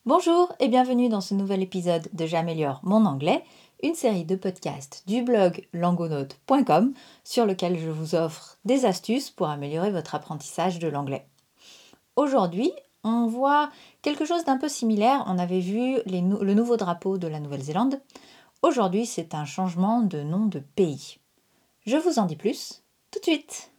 Bonjour et bienvenue dans ce nouvel épisode de J'améliore mon anglais, une série de podcasts du blog langonaute.com sur lequel je vous offre des astuces pour améliorer votre apprentissage de l'anglais. Aujourd'hui, on voit quelque chose d'un peu similaire. On avait vu le nouveau drapeau de la Nouvelle-Zélande. Aujourd'hui, c'est un changement de nom de pays. Je vous en dis plus tout de suite.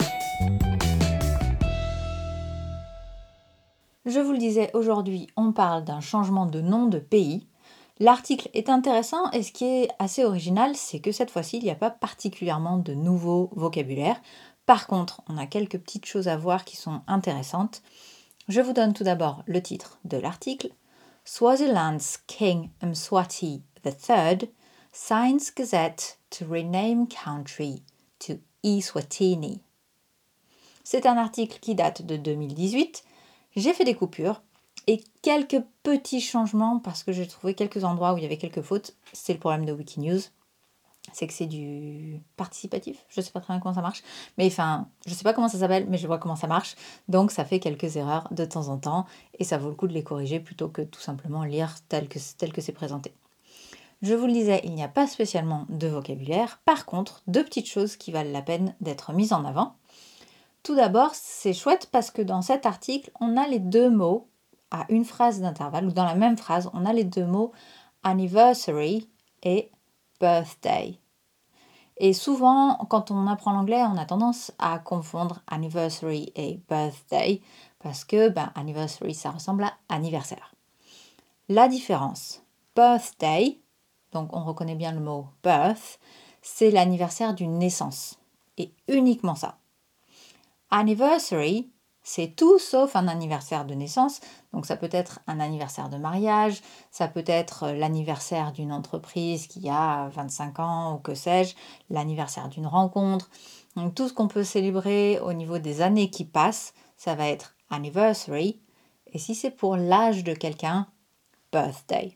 Je vous le disais, aujourd'hui, on parle d'un changement de nom de pays. L'article est intéressant et ce qui est assez original, c'est que cette fois-ci, il n'y a pas particulièrement de nouveau vocabulaire. Par contre, on a quelques petites choses à voir qui sont intéressantes. Je vous donne tout d'abord le titre de l'article. Swaziland's King Mswati III signs Gazette to rename country to Eswatini. C'est un article qui date de 2018. J'ai fait des coupures et quelques petits changements parce que j'ai trouvé quelques endroits où il y avait quelques fautes. C'est le problème de Wikinews. C'est que c'est du participatif. Je ne sais pas très bien comment ça marche. Mais enfin, je ne sais pas comment ça s'appelle, mais je vois comment ça marche. Donc ça fait quelques erreurs de temps en temps et ça vaut le coup de les corriger plutôt que tout simplement lire tel que c'est présenté. Je vous le disais, il n'y a pas spécialement de vocabulaire. Par contre, deux petites choses qui valent la peine d'être mises en avant. Tout d'abord, c'est chouette parce que dans cet article, on a les deux mots à une phrase d'intervalle, ou dans la même phrase, on a les deux mots anniversary et birthday. Et souvent, quand on apprend l'anglais, on a tendance à confondre anniversary et birthday parce que anniversary, ça ressemble à anniversaire. La différence, birthday, donc on reconnaît bien le mot birth, c'est l'anniversaire d'une naissance et uniquement ça. Anniversary, c'est tout sauf un anniversaire de naissance. Donc ça peut être un anniversaire de mariage, ça peut être l'anniversaire d'une entreprise qui a 25 ans ou que sais-je, l'anniversaire d'une rencontre. Donc tout ce qu'on peut célébrer au niveau des années qui passent, ça va être anniversary. Et si c'est pour l'âge de quelqu'un, birthday.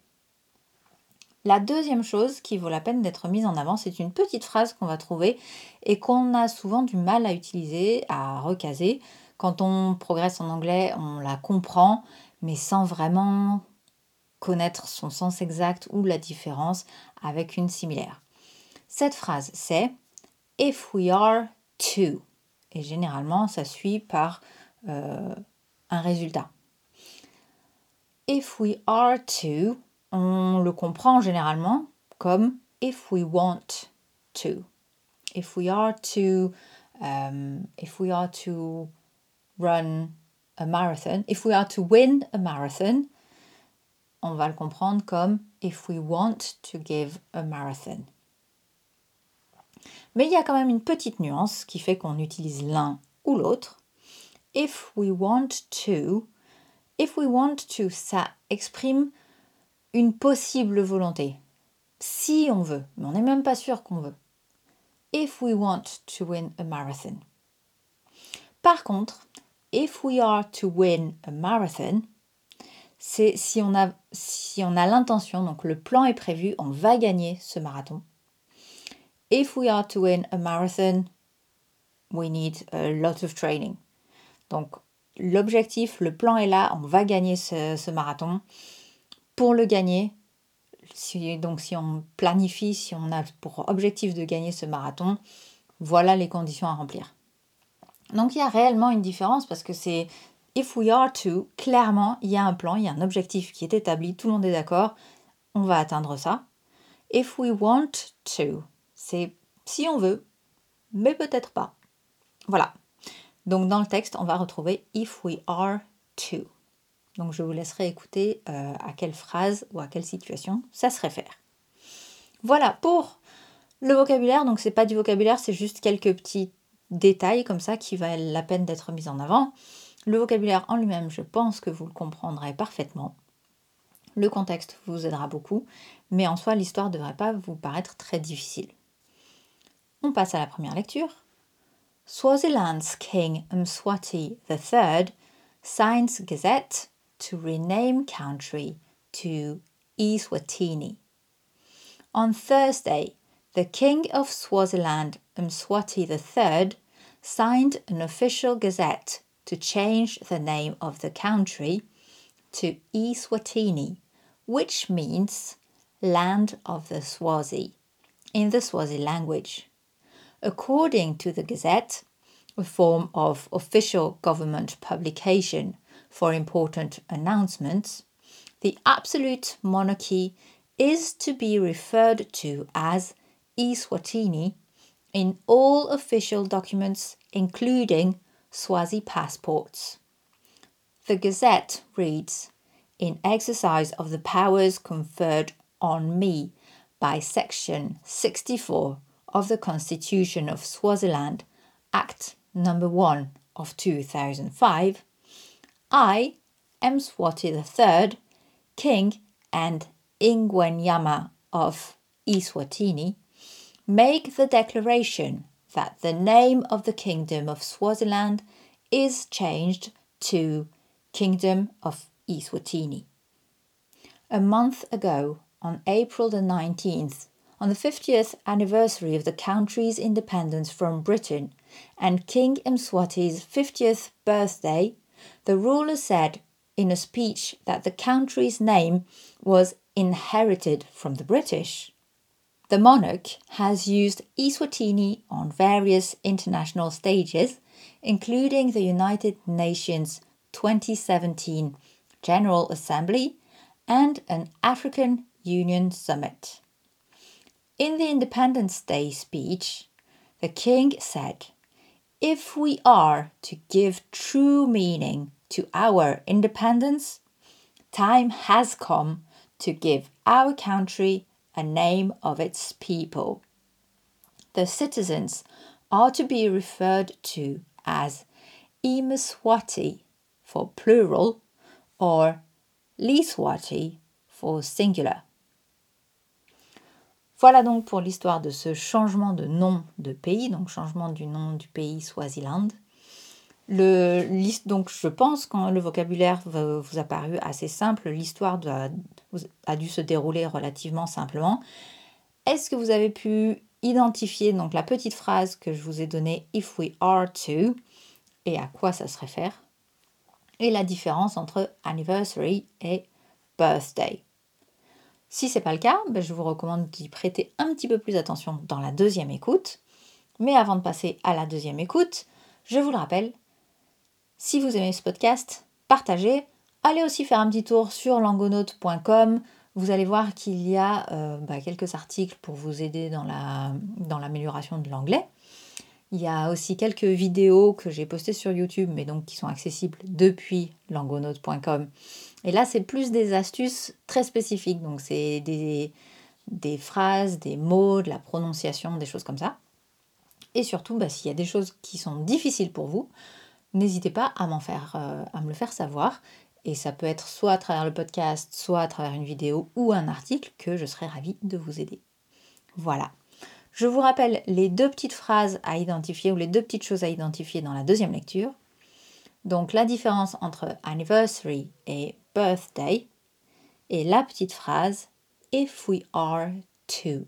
La deuxième chose qui vaut la peine d'être mise en avant, c'est une petite phrase qu'on va trouver et qu'on a souvent du mal à utiliser, à recaser. Quand on progresse en anglais, on la comprend, mais sans vraiment connaître son sens exact ou la différence avec une similaire. Cette phrase, c'est « if we are to ». Et généralement, ça suit par un résultat. « If we are to », on le comprend généralement comme if we want to. If we are to run a marathon, if we are to win a marathon, on va le comprendre comme if we want to give a marathon. Mais il y a quand même une petite nuance qui fait qu'on utilise l'un ou l'autre. If we want to, ça exprime une possible volonté. Si on veut, mais on n'est même pas sûr qu'on veut. If we want to win a marathon. Par contre, if we are to win a marathon, c'est si on a l'intention, donc le plan est prévu, on va gagner ce marathon. If we are to win a marathon, we need a lot of training. Donc l'objectif, le plan est là, on va gagner ce marathon. Pour le gagner, si on planifie, si on a pour objectif de gagner ce marathon, voilà les conditions à remplir. Donc il y a réellement une différence parce que c'est if we are to, clairement il y a un plan, il y a un objectif qui est établi, tout le monde est d'accord, on va atteindre ça. If we want to, c'est si on veut, mais peut-être pas. Voilà. Donc dans le texte, on va retrouver if we are to. Donc je vous laisserai écouter à quelle phrase ou à quelle situation ça se réfère. Voilà pour le vocabulaire. Donc c'est pas du vocabulaire, c'est juste quelques petits détails comme ça qui valent la peine d'être mis en avant. Le vocabulaire en lui-même, je pense que vous le comprendrez parfaitement. Le contexte vous aidera beaucoup, mais en soi, l'histoire ne devrait pas vous paraître très difficile. On passe à la première lecture. Swaziland's King Mswati III signs Gazette to rename country to Eswatini. On Thursday, the King of Swaziland, Mswati III, signed an official gazette to change the name of the country to Eswatini which means land of the Swazi in the Swazi language. According to the Gazette, a form of official government publication for important announcements, the absolute monarchy is to be referred to as Eswatini in all official documents, including Swazi passports. The Gazette reads, "In exercise of the powers conferred on me by Section 64 of the Constitution of Swaziland, Act No. 1 of 2005, I, Mswati III, King and Ingwenyama of Eswatini, make the declaration that the name of the Kingdom of Swaziland is changed to Kingdom of Eswatini." A month ago, on April the 19th, on the 50th anniversary of the country's independence from Britain and King Mswati's 50th birthday, the ruler said in a speech that the country's name was inherited from the British. The monarch has used Eswatini on various international stages, including the United Nations 2017 General Assembly and an African Union Summit. In the Independence Day speech, the king said, "If we are to give true meaning to our independence, time has come to give our country a name of its people. The citizens are to be referred to as Imswati for plural or Liswati for singular." Voilà donc pour l'histoire de ce changement de nom de pays, donc changement du nom du pays Swaziland. Donc je pense que le vocabulaire vous a paru assez simple, l'histoire a dû se dérouler relativement simplement. Est-ce que vous avez pu identifier donc la petite phrase que je vous ai donnée, if we are to, et à quoi ça se réfère, et la différence entre anniversary et birthday? Si ce n'est pas le cas, je vous recommande d'y prêter un petit peu plus attention dans la deuxième écoute. Mais avant de passer à la deuxième écoute, je vous le rappelle, si vous aimez ce podcast, partagez. Allez aussi faire un petit tour sur langonaute.com. Vous allez voir qu'il y a quelques articles pour vous aider dans l'amélioration de l'anglais. Il y a aussi quelques vidéos que j'ai postées sur YouTube, mais donc qui sont accessibles depuis langonaute.com. Et là, c'est plus des astuces très spécifiques. Donc, c'est des phrases, des mots, de la prononciation, des choses comme ça. Et surtout, s'il y a des choses qui sont difficiles pour vous, n'hésitez pas à me le faire savoir. Et ça peut être soit à travers le podcast, soit à travers une vidéo ou un article que je serai ravie de vous aider. Voilà. Je vous rappelle les deux petites phrases à identifier ou les deux petites choses à identifier dans la deuxième lecture. Donc la différence entre anniversary et birthday et la petite phrase if we are to.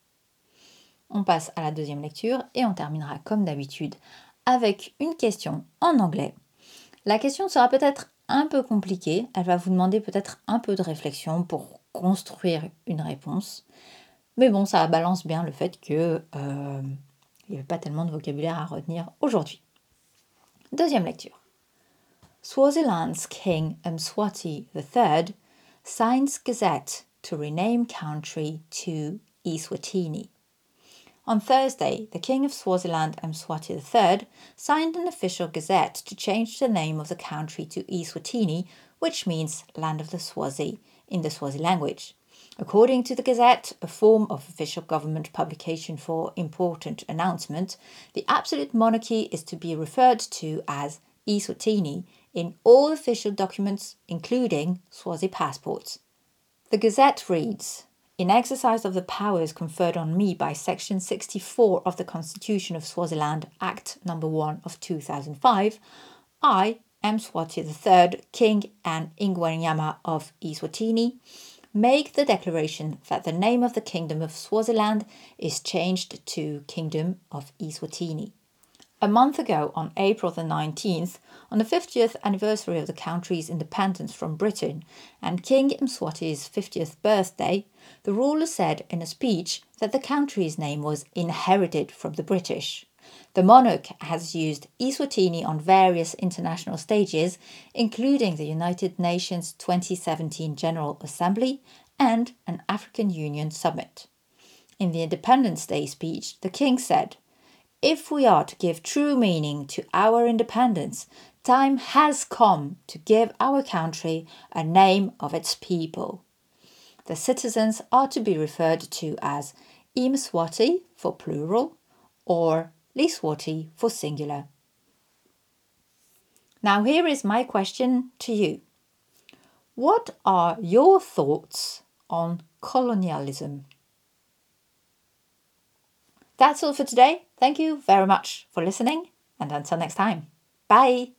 On passe à la deuxième lecture et on terminera comme d'habitude avec une question en anglais. La question sera peut-être un peu compliquée, elle va vous demander peut-être un peu de réflexion pour construire une réponse. Mais bon, ça balance bien le fait qu'il n'y avait pas tellement de vocabulaire à retenir aujourd'hui. Deuxième lecture. Swaziland's King Mswati III signs Gazette to rename country to Eswatini. On Thursday, the King of Swaziland, Mswati III, signed an official gazette to change the name of the country to Eswatini, which means Land of the Swazi in the Swazi language. According to the Gazette, a form of official government publication for important announcement, the absolute monarchy is to be referred to as Eswatini in all official documents, including Swazi passports. The Gazette reads, "In exercise of the powers conferred on me by Section 64 of the Constitution of Swaziland, Act No. 1 of 2005, I, Mswati III, King and Ingwenyama of Eswatini, make the declaration that the name of the Kingdom of Swaziland is changed to Kingdom of Eswatini." A month ago, on April the 19th, on the 50th anniversary of the country's independence from Britain and King Mswati's 50th birthday, the ruler said in a speech that the country's name was inherited from the British. The monarch has used Eswatini on various international stages, including the United Nations 2017 General Assembly and an African Union summit. In the Independence Day speech, the king said, "If we are to give true meaning to our independence, time has come to give our country a name of its people. The citizens are to be referred to as Mswati for plural or Liswati for singular." Now here is my question to you. What are your thoughts on colonialism? That's all for today. Thank you very much for listening, and until next time. Bye!